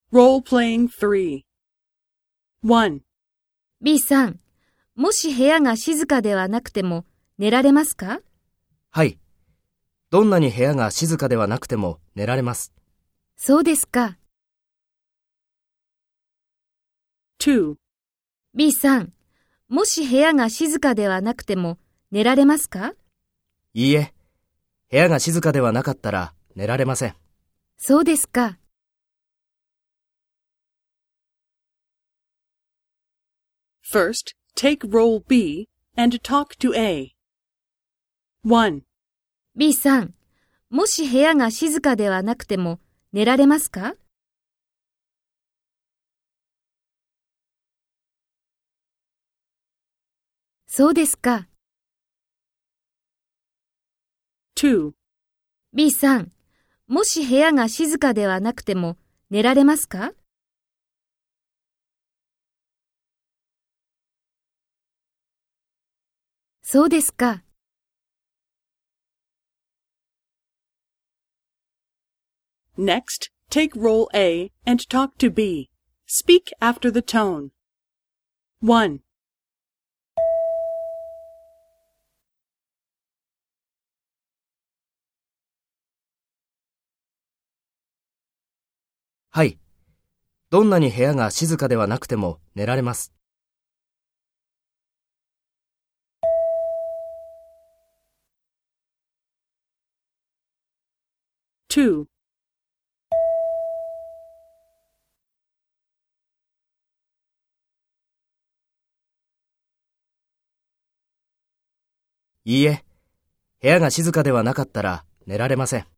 Role-playing 3. 1. B さん、もし部屋が静かではなくても寝られますか？ はい。どんなに部屋が静かではなくても寝られます。 そうですか。 2. B さん、もし部屋が静かではなくても寝られますか？ いいえ。部屋が静かではなかったら寝られません。 そうですか。 First, take role B and talk to A. 1. B さん、もし部屋が静かではなくても寝られますか？そうですか。 2. B さん、もし部屋が静かではなくても寝られますか？そうですか。 Next, take role A and talk to B. Speak after the tone. 1. はい。どんなに部屋が静かではなくても寝られます。 2. いいえ。部屋が静かではなかったら寝られません。